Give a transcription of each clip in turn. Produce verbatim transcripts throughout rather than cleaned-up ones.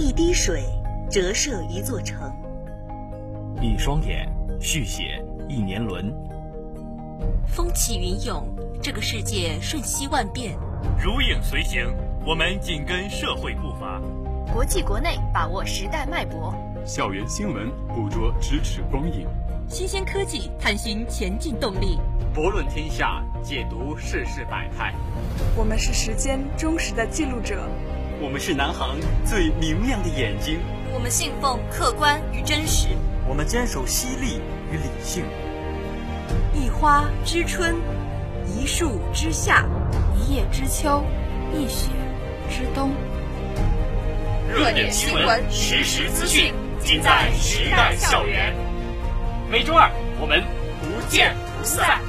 一滴水折射一座城， 一双眼续写一年轮。 风起云涌，这个世界瞬息万变。 如影随形，我们紧跟社会步伐。 国际国内把握时代脉搏， 校园新闻捕捉咫尺光影， 新鲜科技探寻前进动力， 博论天下，解读世事百态。 我们是时间忠实的记录者， 我们是南航最明亮的眼睛， 我们信奉客观与真实， 我们坚守犀利与理性。 一花知春，一树知夏， 一叶知秋，一雪知冬。 热点新闻，实时资讯，尽在时代校园。每周二我们不见不散。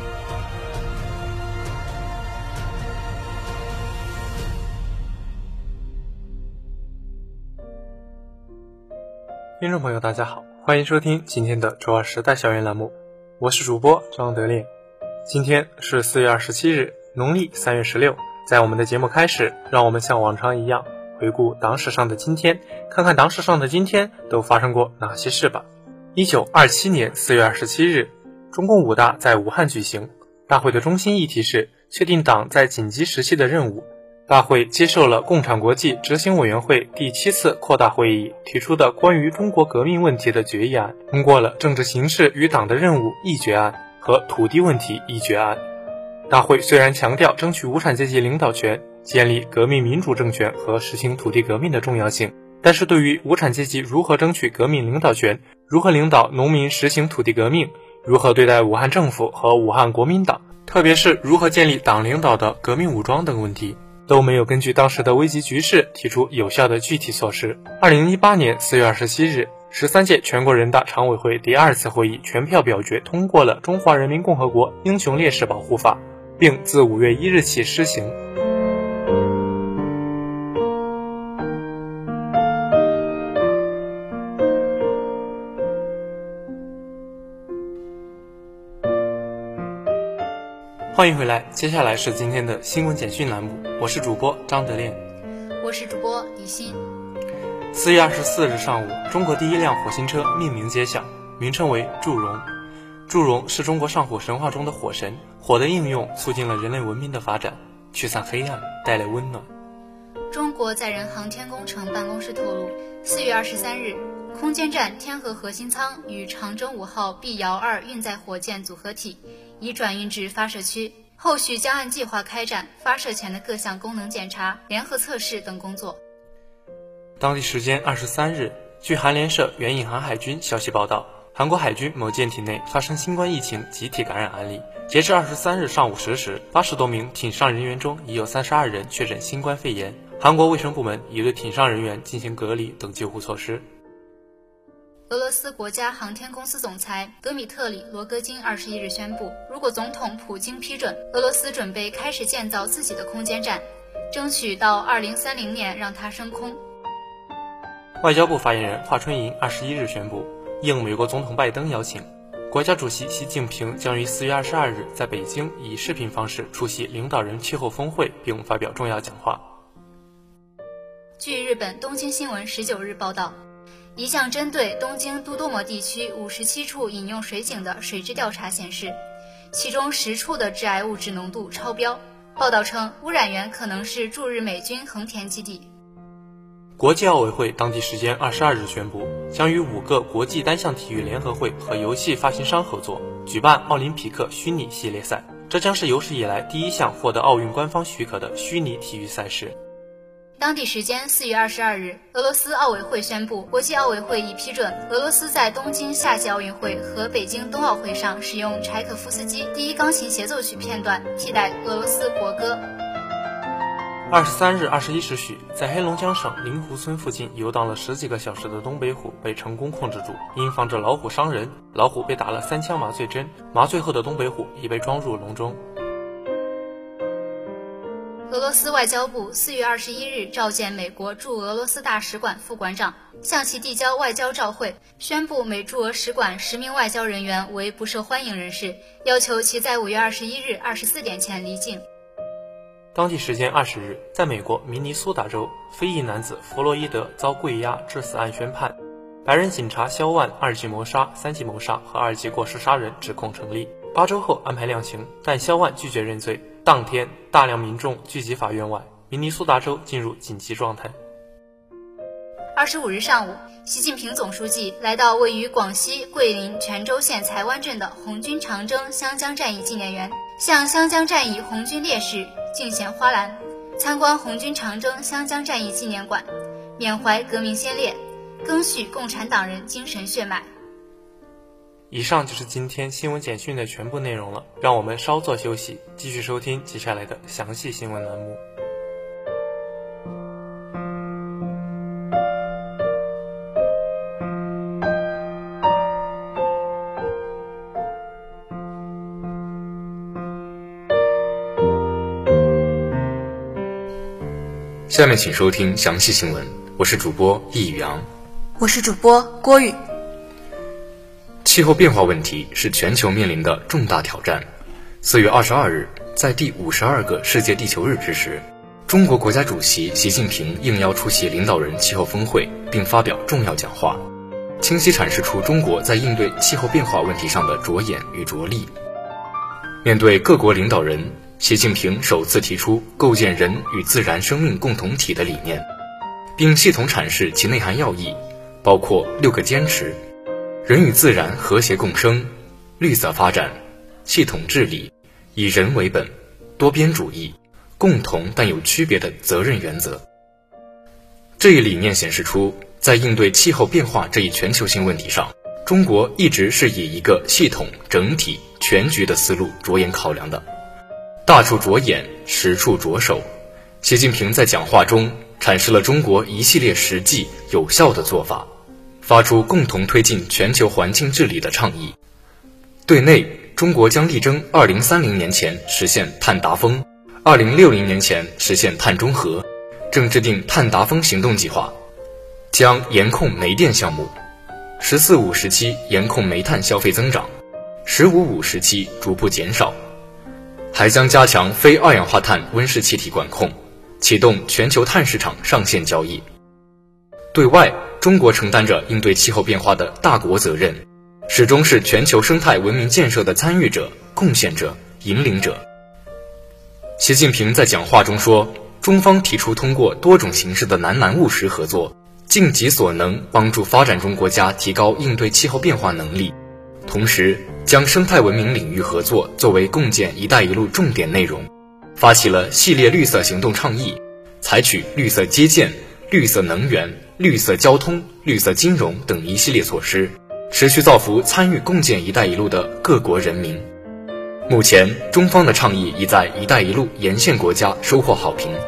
听众朋友大家好，欢迎收听今天的周二时代校园栏目，我是主播张德烈。今天是四月二十七日，农历三月十六。在我们的节目开始，让我们像往常一样回顾党史上的今天，看看党史上的今天都发生过哪些事吧。一九二七年四月二十七日，中共五大在武汉举行。大会的中心议题是确定党在紧急时期的任务。大会接受了共产国际执行委员会第七次扩大会议提出的关于中国革命问题的决议案，通过了政治形势与党的任务议决案和土地问题议决案。大会虽然强调争取无产阶级领导权，建立革命民主政权和实行土地革命的重要性，但是对于无产阶级如何争取革命领导权，如何领导农民实行土地革命，如何对待武汉政府和武汉国民党，特别是如何建立党领导的革命武装等问题，都没有根据当时的危急局势提出有效的具体措施。二零一八年四月二十七日，十三届全国人大常委会第二次会议全票表决通过了《中华人民共和国英雄烈士保护法》，并自五月一日起施行。欢迎回来，接下来是今天的新闻简讯栏目，我是主播张德炼， 我是主播李欣。 四月二十四日上午，中国第一辆火星车命名揭晓，名称为祝融。祝融是中国上古神话中的火神，火的应用促进了人类文明的发展，驱散黑暗，带来温暖。 中国载人航天工程办公室透露，四月二十三日，空间站天河核心舱与长征五号 B 遥二运载火箭组合体已转运至发射区，后续将按计划开展发射前的各项功能检查、联合测试等工作。 当地时间二十三日，据韩联社援引韩海军消息报道，韩国海军某舰体内发生新冠疫情集体感染案例。截至二十三日上午十时，八十多名艇上人员中已有三十二人确诊新冠肺炎。韩国卫生部门已对艇上人员进行隔离等救护措施。 俄罗斯国家航天公司总裁德米特里·罗戈金二十一日宣布，如果总统普京批准，俄罗斯准备开始建造自己的空间站，争取到二零三零年让它升空。 外交部发言人华春莹二十一日宣布，应美国总统拜登邀请，国家主席习近平将于四月二十二日在北京以视频方式出席领导人气候峰会，并发表重要讲话。 据日本东京新闻十九日报道，一项针对东京都多摩地区五十七处饮用水井的水质调查显示，其中十处的致癌物质浓度超标。报道称，污染源可能是驻日美军横田基地。 国际奥委会当地时间二十二日宣布，将与五个国际单项体育联合会和游戏发行商合作，举办奥林匹克虚拟系列赛。这将是有史以来第一项获得奥运官方许可的虚拟体育赛事。 当地时间四月二十二日，俄罗斯奥委会宣布，国际奥委会已批准俄罗斯在东京夏季奥运会和北京冬奥会上使用柴可夫斯基第一钢琴协奏曲片段替代俄罗斯国歌。 二十三日二十一时许，在黑龙江省灵湖村附近游荡了十几个小时的东北虎被成功控制住，因防止老虎伤人，老虎被打了三枪麻醉针，麻醉后的东北虎已被装入笼中。 俄罗斯外交部四月二十一日召见美国驻俄罗斯大使馆副馆长，向其递交外交照会，宣布美驻俄使馆十名外交人员为不受欢迎人士，要求其在五月二十一日二十四点前离境。 当地时间二十日，在美国明尼苏达州，非裔男子弗洛伊德遭跪压致死案宣判，白人警察肖万二级谋杀、三级谋杀和二级过失杀人指控成立。八周后安排量刑，但肖万拒绝认罪。当天，大量民众聚集法院外，明尼苏达州进入紧急状态。 二十五日上午，习近平总书记来到位于广西桂林泉州县才湾镇的红军长征湘江战役纪念园，向湘江战役红军烈士敬献花篮，参观红军长征湘江战役纪念馆，缅怀革命先烈，赓续共产党人精神血脉。 以上就是今天新闻简讯的全部内容了，让我们稍作休息，继续收听接下来的详细新闻栏目。 下面请收听详细新闻，我是主播易宇阳， 我是主播郭宇。 气候变化问题是全球面临的重大挑战。四月二十二日，在第五十二个世界地球日之时，中国国家主席习近平应邀出席领导人气候峰会，并发表重要讲话，清晰阐释出中国在应对气候变化问题上的着眼与着力。面对各国领导人，习近平首次提出构建人与自然生命共同体的理念，并系统阐释其内涵要义，包括六个坚持：人与自然和谐共生、绿色发展、系统治理、以人为本、多边主义、共同但有区别的责任原则。这一理念显示出，在应对气候变化这一全球性问题上，中国一直是以一个系统、整体、全局的思路着眼考量的。大处着眼，实处着手。习近平在讲话中阐释了中国一系列实际有效的做法，发出共同推进全球环境治理的倡议。对内，中国将力争二零三零年前实现碳达峰，二零六零年前实现碳中和，正制定碳达峰行动计划，将严控煤电项目，十四五时期严控煤炭消费增长，十五五时期逐步减少，还将加强非二氧化碳温室气体管控，启动全球碳市场上线交易。对外，中国承担着应对气候变化的大国责任，始终是全球生态文明建设的参与者、贡献者、引领者。习近平在讲话中说，中方提出通过多种形式的南南务实合作，尽己所能帮助发展中国家提高应对气候变化能力，同时将生态文明领域合作作为共建“一带一路”重点内容，发起了系列绿色行动倡议，采取绿色基建、绿色能源、绿色交通、绿色金融等一系列措施，持续造福参与共建“一带一路”的各国人民。目前，中方的倡议已在“一带一路”沿线国家收获好评。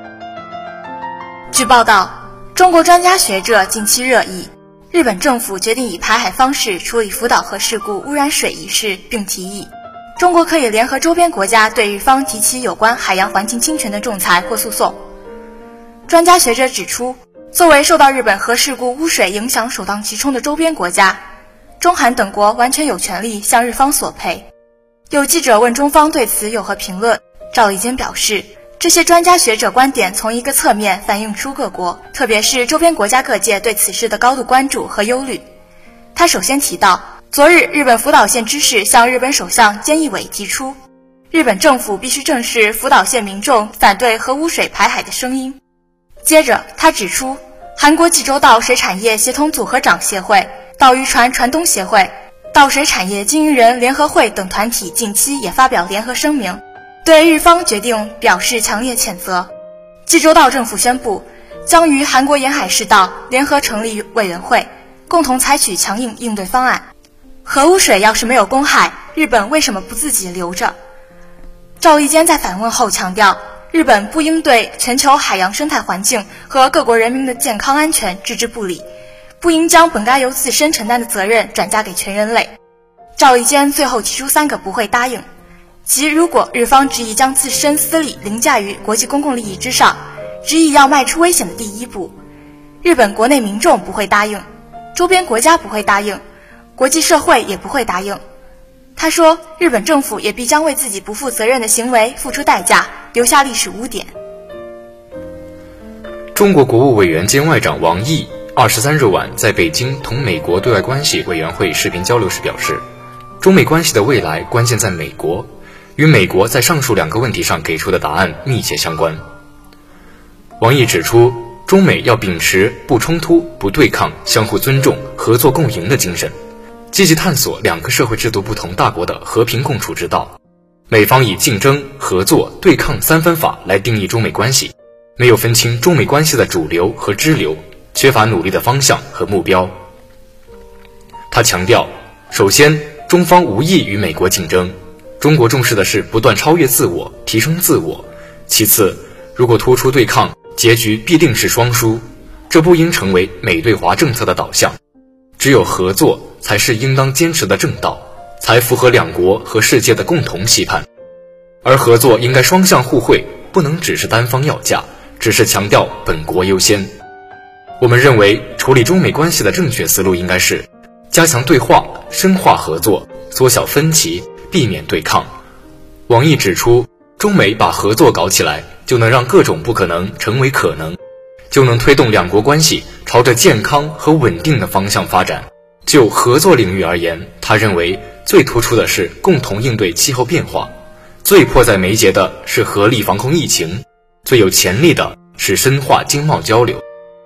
据报道，中国专家学者近期热议，日本政府决定以排海方式处理福岛核事故污染水一事，并提议中国可以联合周边国家对日方提起有关海洋环境侵权的仲裁或诉讼。专家学者指出，作为受到日本核事故污水影响首当其冲的周边国家，中韩等国完全有权利向日方索赔。有记者问中方对此有何评论，赵立坚表示，这些专家学者观点从一个侧面反映出各国，特别是周边国家各界对此事的高度关注和忧虑。他首先提到，昨日日本福岛县知事向日本首相菅义伟提出，日本政府必须正视福岛县民众反对核污水排海的声音。接着他指出，韩国济州岛水产业协同组合长协会、岛渔船船东协会、岛水产业经营人联合会等团体近期也发表联合声明，对日方决定表示强烈谴责。济州岛政府宣布，将与韩国沿海世道联合成立委员会，共同采取强硬应对方案。核污水要是没有公害，日本为什么不自己留着？赵立坚在反问后强调，日本不应对全球海洋生态环境和各国人民的健康安全置之不理，不应将本该由自身承担的责任转嫁给全人类。赵立坚最后提出三个不会答应，即如果日方执意将自身私利凌驾于国际公共利益之上，执意要迈出危险的第一步，日本国内民众不会答应，周边国家不会答应，国际社会也不会答应。他说，日本政府也必将为自己不负责任的行为付出代价， 留下历史污点。 中国国务委员兼外长王毅二十三日晚在北京同美国对外关系委员会视频交流时表示，中美关系的未来关键在美国，与美国在上述两个问题上给出的答案密切相关。王毅指出，中美要秉持不冲突、不对抗、相互尊重、合作共赢的精神，积极探索两个社会制度不同大国的和平共处之道。美方以竞争、合作、对抗三分法来定义中美关系，没有分清中美关系的主流和支流，缺乏努力的方向和目标。他强调，首先，中方无意与美国竞争，中国重视的是不断超越自我，提升自我。其次，如果突出对抗，结局必定是双输，这不应成为美对华政策的导向。只有合作才是应当坚持的正道，才符合两国和世界的共同期盼。而合作应该双向互惠，不能只是单方要价，只是强调本国优先。我们认为，处理中美关系的正确思路应该是加强对话，深化合作，缩小分歧，避免对抗。王毅指出，中美把合作搞起来，就能让各种不可能成为可能，就能推动两国关系朝着健康和稳定的方向发展。就合作领域而言，他认为最突出的是共同应对气候变化，最迫在眉睫的是合力防控疫情，最有潜力的是深化经贸交流。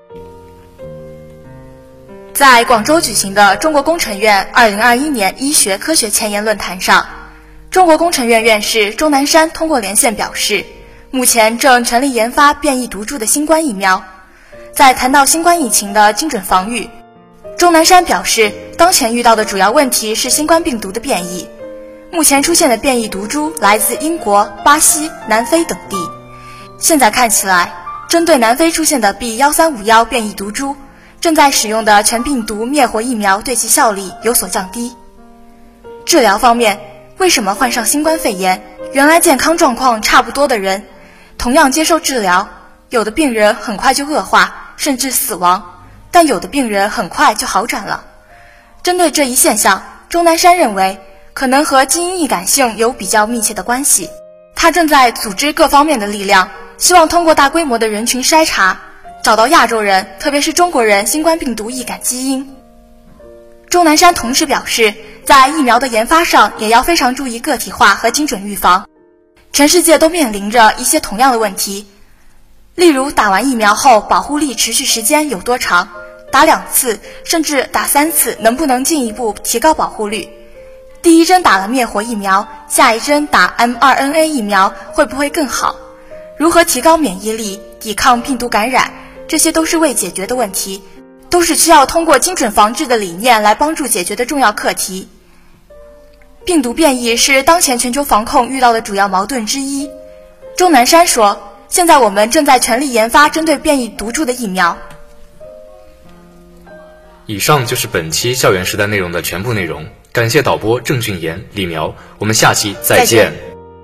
在广州举行的中国工程院二零二一年医学科学前沿论坛上，中国工程院院士钟南山通过连线表示，目前正全力研发变异毒株的新冠疫苗。在谈到新冠疫情的精准防御，钟南山表示，当前遇到的主要问题是新冠病毒的变异。目前出现的变异毒株来自英国、巴西、南非等地。现在看起来，针对南非出现的 B一三五一 变异毒株，正在使用的全病毒灭活疫苗对其效力有所降低。治疗方面，为什么患上新冠肺炎，原来健康状况差不多的人，同样接受治疗，有的病人很快就恶化，甚至死亡，但有的病人很快就好转了。针对这一现象，钟南山认为，可能和基因易感性有比较密切的关系。他正在组织各方面的力量，希望通过大规模的人群筛查，找到亚洲人，特别是中国人新冠病毒易感基因。钟南山同时表示，在疫苗的研发上也要非常注意个体化和精准预防。全世界都面临着一些同样的问题，例如打完疫苗后保护力持续时间有多长，打两次甚至打三次能不能进一步提高保护率，第一针打了灭活疫苗，下一针打 M 二 N A 疫苗会不会更好，如何提高免疫力，抵抗病毒感染，这些都是未解决的问题，都是需要通过精准防治的理念来帮助解决的重要课题。病毒变异是当前全球防控遇到的主要矛盾之一。钟南山说，现在我们正在全力研发针对变异毒株的疫苗。 以上就是本期校园时代内容的全部内容，感谢导播郑俊言、李苗，我们下期再见。 再见。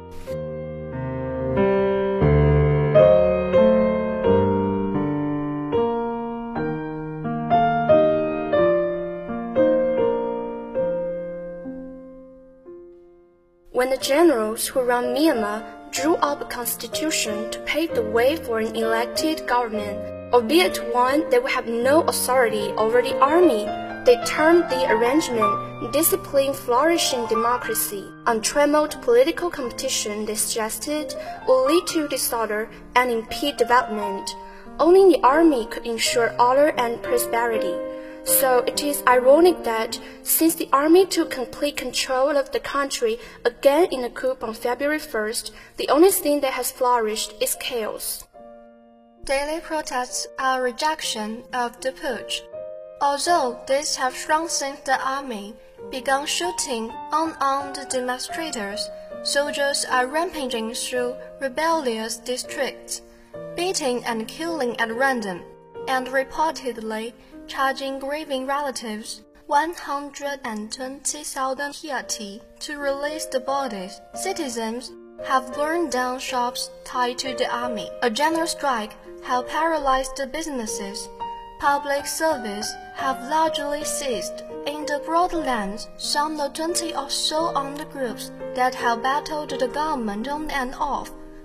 When the generals who run Myanmar drew up a constitution to pave the way for an elected government, albeit one that would have no authority over the army, they termed the arrangement discipline flourishing democracy. Untrammeled political competition, they suggested, will lead to disorder and impede development. Only the army could ensure order and prosperity. So it is ironic that, since the army took complete control of the country again in a coup on February first, the only thing that has flourished is chaos. Daily protests are a rejection of the putsch. Although these have shrunk since the army began shooting unarmed demonstrators, soldiers are rampaging through rebellious districts, beating and killing at random, and reportedly charging grieving relatives one hundred twenty thousand kyat to release the bodies. Citizens have burned down shops tied to the army. A general strike have paralyzed the businesses. Public service have largely ceased. In the borderlands, some of the twenty or so armed groups that have battled the government on and off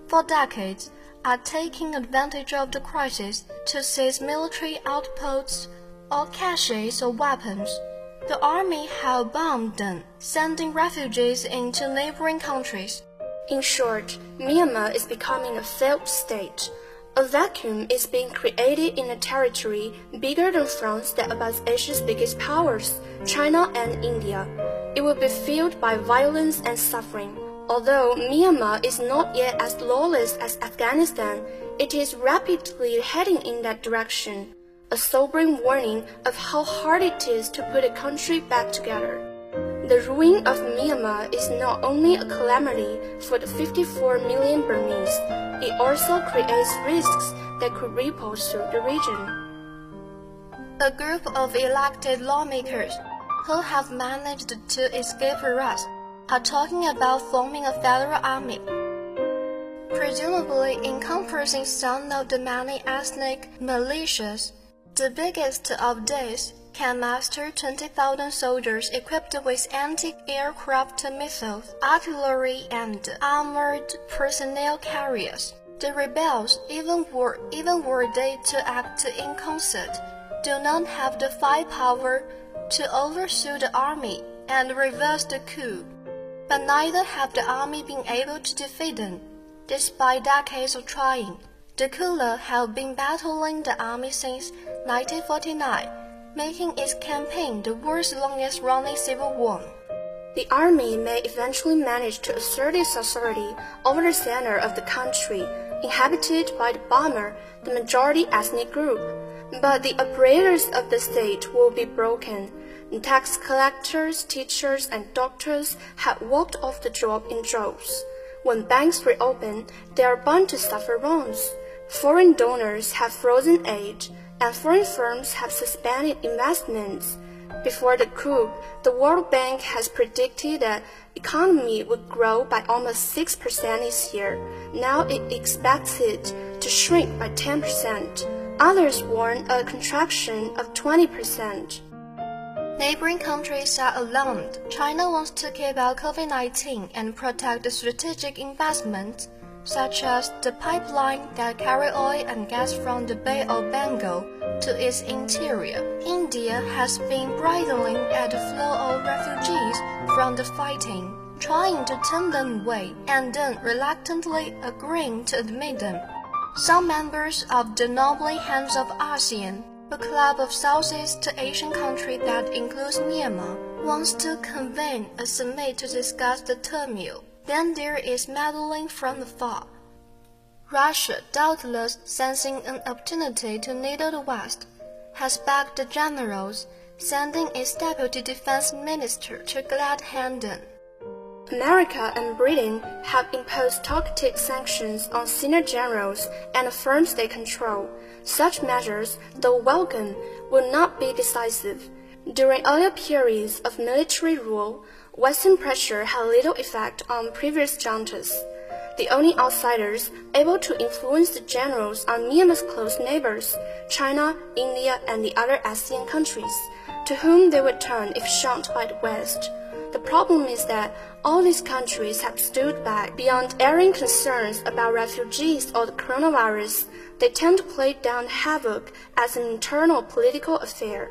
for decades, are taking advantage of the crisis to seize military outposts or caches of weapons. The army have bombed them, sending refugees into neighboring countries. In short, Myanmar is becoming a failed state. A vacuum is being created in a territory bigger than France that abuts Asia's biggest powers, China and India. It will be filled by violence and suffering. Although Myanmar is not yet as lawless as Afghanistan, it is rapidly heading in that direction, a sobering warning of how hard it is to put a country back together. The ruin of Myanmar is not only a calamity for the fifty-four million Burmese, it also creates risks that could ripple through the region. A group of elected lawmakers who have managed to escape arrest are talking about forming a federal army, presumably encompassing some of the many ethnic militias. The biggest of these can muster twenty thousand soldiers equipped with anti-aircraft missiles, artillery, and armored personnel carriers. The rebels, even were, even were they to act in concert, do not have the firepower to overthrow the army and reverse the coup. But neither have the army been able to defeat them, despite decades of trying. The Kula have been battling the army since nineteen forty-nine, making its campaign the world's longest-running civil war. The army may eventually manage to assert its authority over the center of the country, inhabited by the Burma, the majority ethnic group. But the apparatus of the state will be broken. Tax collectors, teachers, and doctors have walked off the job in droves. When banks reopen, they are bound to suffer wrongs. Foreign donors have frozen aid, and foreign firms have suspended investments. Before the coup, the World Bank has predicted that the economy would grow by almost six percent this year. Now it expects it to shrink by ten percent. Others warn a contraction of twenty percent. Neighboring countries are alarmed. China wants to keep out COVID nineteen and protect the strategic investments, such as the pipeline that carry oil and gas from the Bay of Bengal to its interior. India has been bridling at the flow of refugees from the fighting, trying to turn them away and then reluctantly agreeing to admit them. Some members of the Noble Hands of ASEAN, a club of Southeast Asian countries that includes Myanmar, wants to convene a summit to discuss the turmoil. Then there is meddling from afar. Russia, doubtless sensing an opportunity to needle the West, has backed the generals, sending its deputy defense minister to glad-hand them. America and Britain have imposed targeted sanctions on senior generals and the firms they control. Such measures, though welcome, will not be decisive. During earlier periods of military rule, Western pressure had little effect on previous juntas. The only outsiders able to influence the generals are Myanmar's close neighbors, China, India, and the other ASEAN countries, to whom they would turn if shunned by the West. The problem is that all these countries have stood back beyond airing concerns about refugees or the coronavirus. They tend to play down havoc as an internal political affair.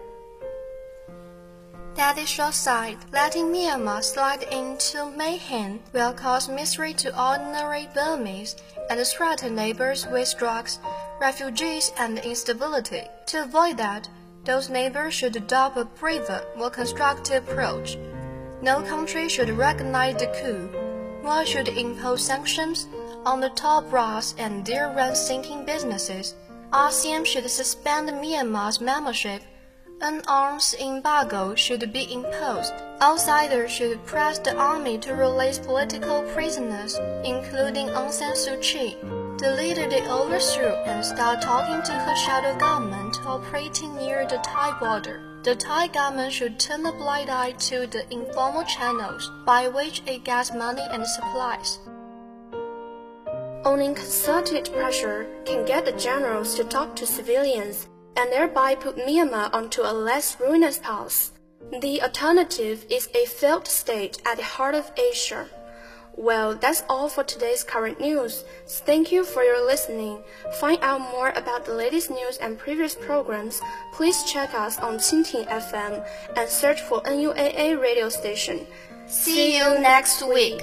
That is short sight. Letting Myanmar slide into mayhem will cause misery to ordinary Burmese and threaten neighbors with drugs, refugees, and instability. To avoid that, those neighbors should adopt a braver, more constructive approach. No country should recognize the coup, nor should impose sanctions on the top brass and their rent-sinking businesses. ASEAN should suspend Myanmar's membership. An arms embargo should be imposed. Outsiders should press the army to release political prisoners, including Aung San Suu Kyi, the leader they overthrew, and start talking to her shadow government operating near the Thai border. The Thai government should turn a blind eye to the informal channels by which it gets money and supplies. Only concerted pressure can get the generals to talk to civilians and thereby put Myanmar onto a less ruinous path. The alternative is a failed state at the heart of Asia. Well, that's all for today's current news. Thank you for your listening. Find out more about the latest news and previous programs. Please check us on Qingting F M and search for N U A A radio station. See you next week.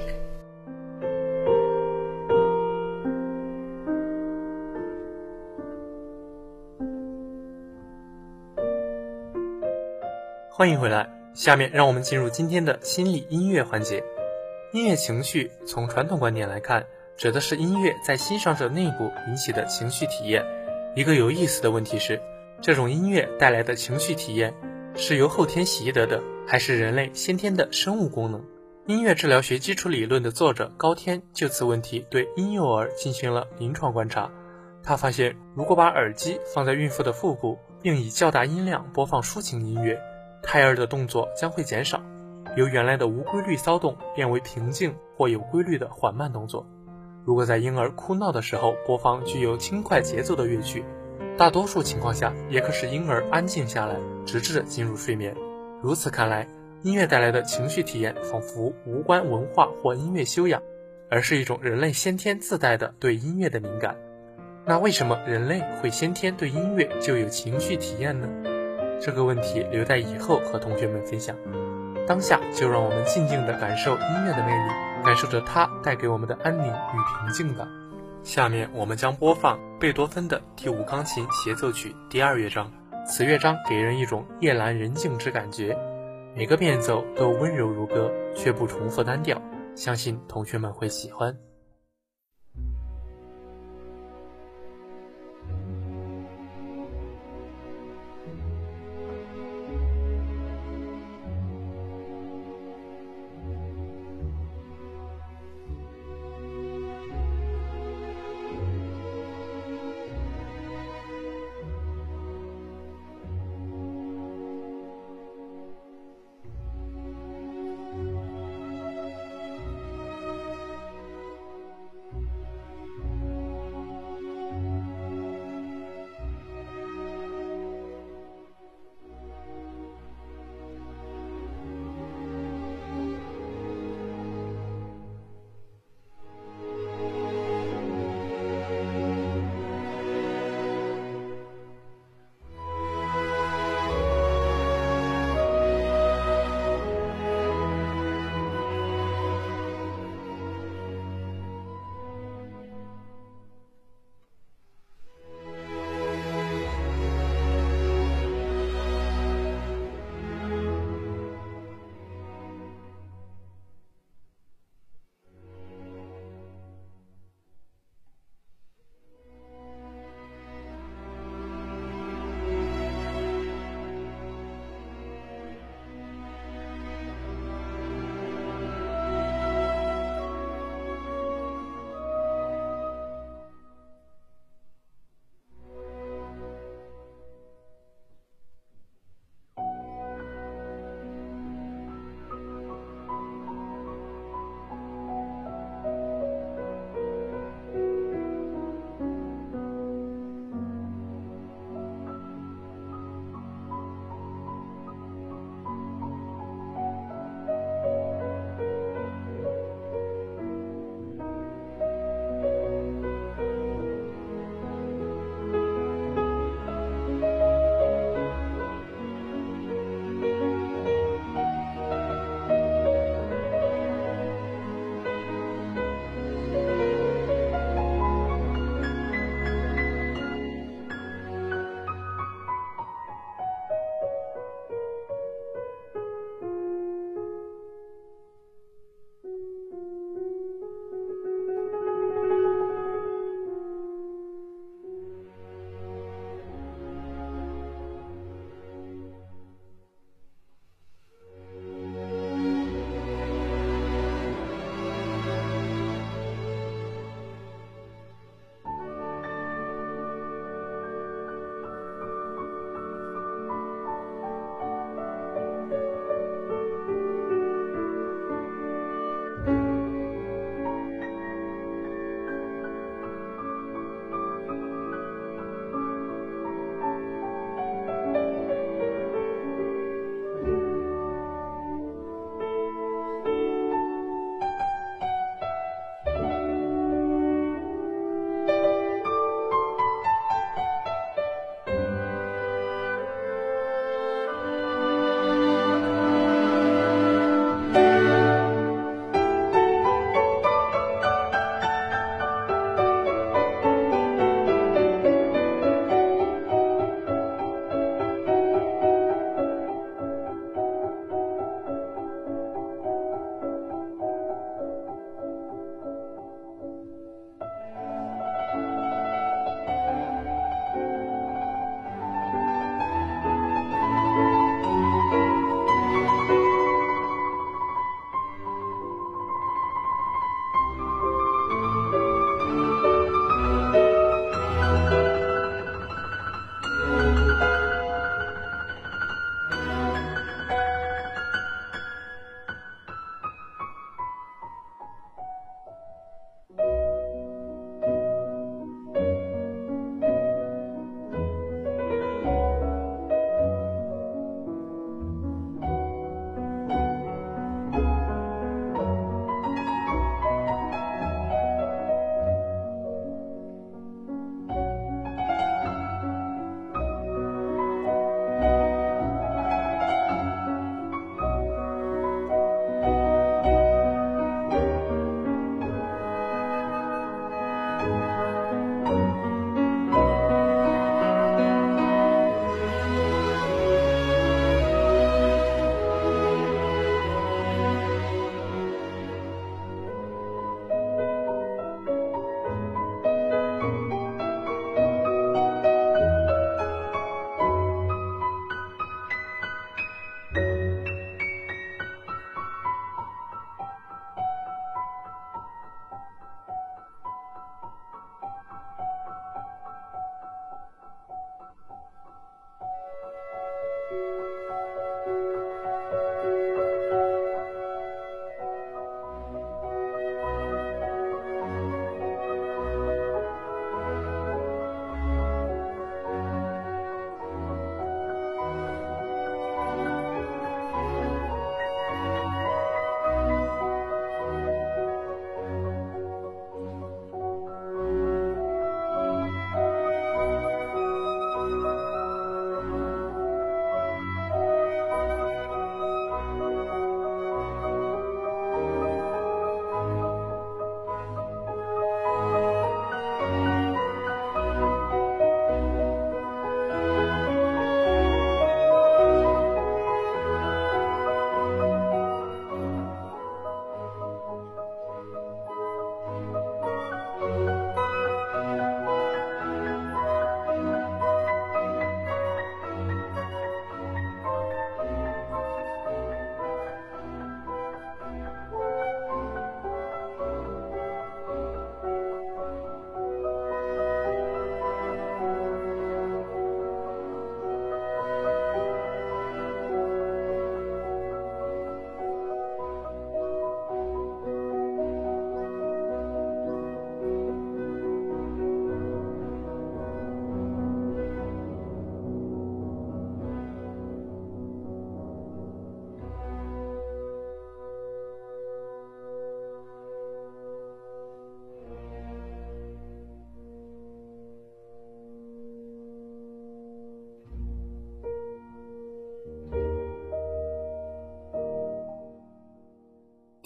欢迎回来，下面让我们进入今天的心理音乐环节。音乐情绪从传统观点来看，指的是音乐在欣赏者内部引起的情绪体验。一个有意思的问题是，这种音乐带来的情绪体验是由后天习得的，还是人类先天的生物功能？音乐治疗学基础理论的作者高天就此问题对婴幼儿进行了临床观察。他发现，如果把耳机放在孕妇的腹部，并以较大音量播放抒情音乐，胎儿的动作将会减少，由原来的无规律骚动变为平静或有规律的缓慢动作。如果在婴儿哭闹的时候播放具有轻快节奏的乐曲，大多数情况下也可使婴儿安静下来，直至进入睡眠。如此看来，音乐带来的情绪体验仿佛无关文化或音乐修养，而是一种人类先天自带的对音乐的敏感。那为什么人类会先天对音乐就有情绪体验呢？这个问题留待以后和同学们分享。当下就让我们静静地感受音乐的魅力，感受着它带给我们的安宁与平静吧。下面我们将播放贝多芬的第五钢琴协奏曲第二乐章，此乐章给人一种夜阑人静之感觉，每个变奏都温柔如歌，却不重复单调，相信同学们会喜欢。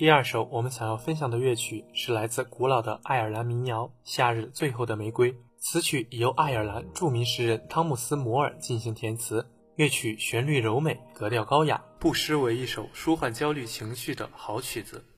第二首我们想要分享的乐曲是来自古老的爱尔兰民谣《夏日最后的玫瑰》，此曲由爱尔兰著名诗人汤姆斯·摩尔进行填词，乐曲旋律柔美，格调高雅，不失为一首舒缓焦虑情绪的好曲子。